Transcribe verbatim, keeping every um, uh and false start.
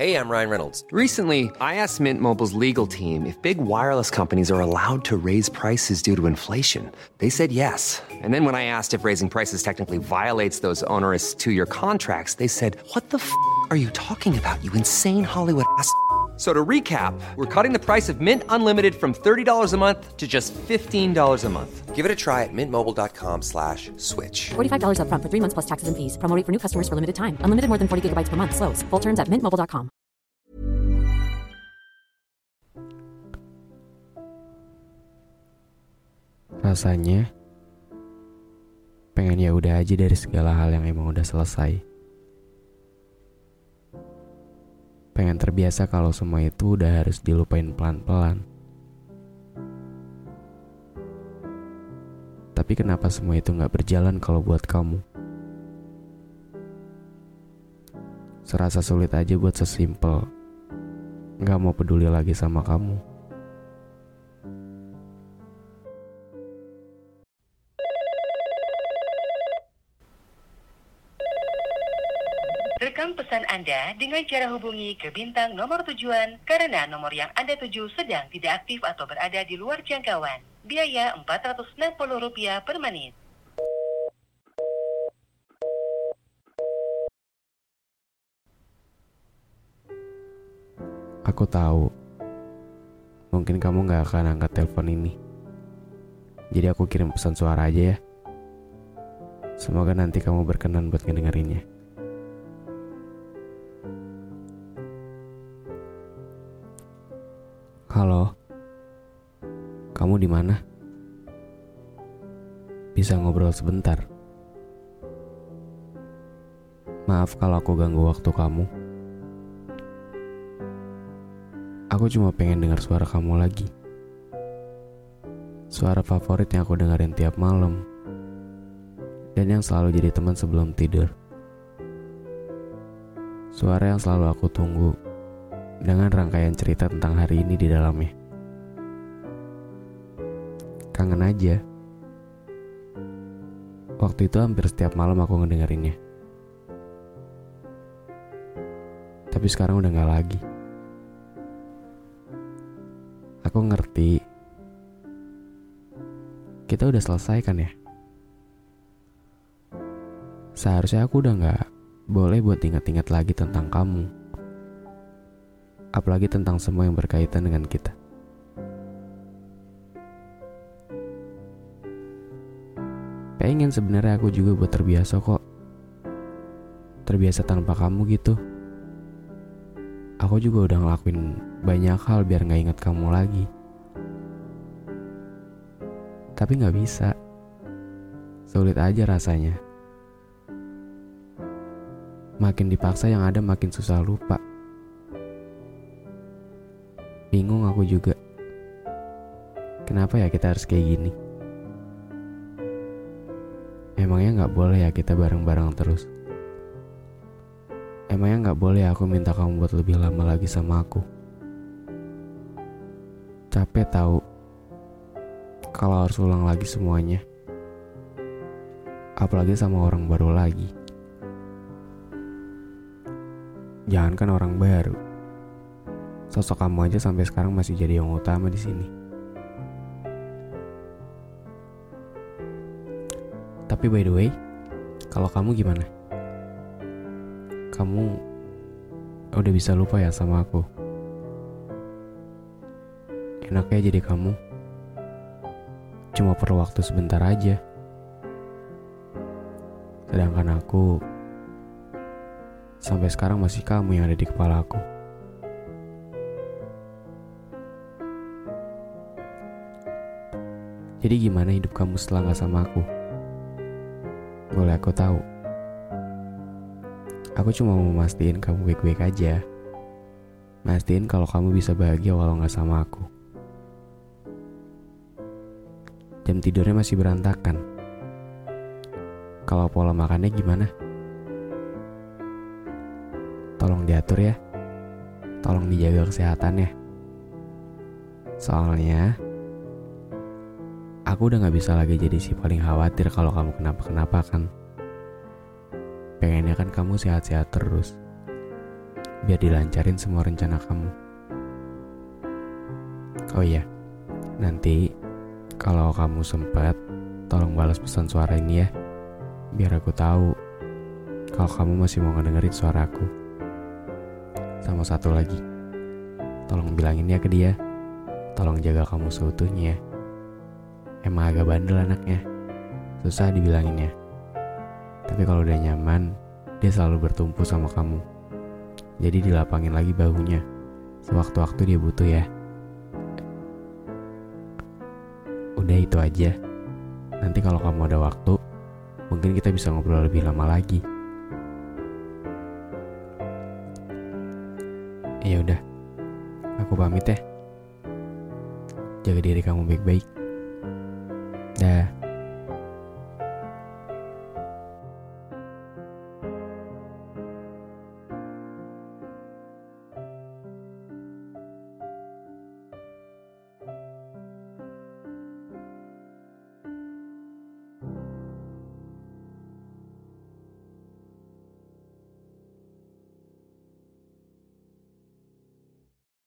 Hey, I'm Ryan Reynolds. Recently, I asked Mint Mobile's legal team if big wireless companies are allowed to raise prices due to inflation. They said yes. And then when I asked if raising prices technically violates those onerous two-year contracts, they said, "What the f*** are you talking about, you insane Hollywood ass?" So to recap, we're cutting the price of Mint Unlimited from thirty dollars a month to just fifteen dollars a month. Give it a try at mintmobile.com slash switch. forty-five dollars up front for three months plus taxes and fees. Promo rate for new customers for limited time. Unlimited more than forty gigabytes per month. Slows full terms at mint mobile dot com. Rasanya pengen ya udah aja dari segala hal yang emang udah selesai. Pengen terbiasa kalau semua itu udah harus dilupain pelan-pelan. Tapi kenapa semua itu gak berjalan kalau buat kamu? Serasa sulit aja buat sesimpel gak mau peduli lagi sama kamu. Rekam pesan Anda dengan cara hubungi ke bintang nomor tujuan karena nomor yang Anda tuju sedang tidak aktif atau berada di luar jangkauan. Biaya empat ratus enam puluh rupiah per menit. Aku tahu, mungkin kamu gak akan angkat telepon ini. Jadi aku kirim pesan suara aja ya. Semoga nanti kamu berkenan buat ngedengerinnya. Halo, kamu di mana? Bisa ngobrol sebentar? Maaf kalau aku ganggu waktu kamu. Aku cuma pengen dengar suara kamu lagi. Suara favorit yang aku dengerin tiap malam. Dan yang selalu jadi teman sebelum tidur. Suara yang selalu aku tunggu dengan rangkaian cerita tentang hari ini di dalamnya. Kangen aja. Waktu itu hampir setiap malam aku ngedengerinnya. Tapi sekarang udah gak lagi. Aku ngerti kita udah selesai kan ya. Seharusnya aku udah gak boleh buat ingat-ingat lagi tentang kamu. Apalagi tentang semua yang berkaitan dengan kita. Pengen sebenarnya aku juga buat terbiasa kok. Terbiasa tanpa kamu gitu. Aku juga udah ngelakuin banyak hal biar gak ingat kamu lagi. Tapi gak bisa. Sulit aja rasanya. Makin dipaksa yang ada makin susah lupa. Bingung aku juga. Kenapa ya kita harus kayak gini? Emangnya gak boleh ya kita bareng-bareng terus? Emangnya gak boleh aku minta kamu buat lebih lama lagi sama aku? Capek tahu kalau harus ulang lagi semuanya. Apalagi sama orang baru lagi. Jangankan orang baru, sosok kamu aja sampai sekarang masih jadi yang utama di sini. Tapi by the way, kalau kamu gimana? Kamu udah bisa lupa ya sama aku? Enaknya jadi kamu cuma perlu waktu sebentar aja. Sedangkan aku sampai sekarang masih kamu yang ada di kepala aku. Jadi gimana hidup kamu setelah gak sama aku? Boleh aku tahu? Aku cuma mau mastiin kamu baik-baik aja. Mastiin kalau kamu bisa bahagia walau gak sama aku. Jam tidurnya masih berantakan. Kalau pola makannya gimana? Tolong diatur ya. Tolong dijaga kesehatannya. Soalnya aku udah gak bisa lagi jadi si paling khawatir kalau kamu kenapa-kenapa kan. Pengennya kan kamu sehat-sehat terus. biar dilancarin semua rencana kamu. Oh iya, nanti kalau kamu sempat, tolong balas pesan suara ini ya, biar aku tahu kalau kamu masih mau ngedengerin suara aku. Sama satu lagi, tolong bilangin ya ke dia, tolong jaga kamu seutuhnya. Emang agak bandel anaknya, susah dibilanginnya. Tapi kalau udah nyaman, dia selalu bertumpu sama kamu. Jadi dilapangin lagi bahunya, sewaktu-waktu dia butuh ya. Udah itu aja. Nanti kalau kamu ada waktu, mungkin kita bisa ngobrol lebih lama lagi. Ya udah, aku pamit ya. Jaga diri kamu baik-baik. Dah.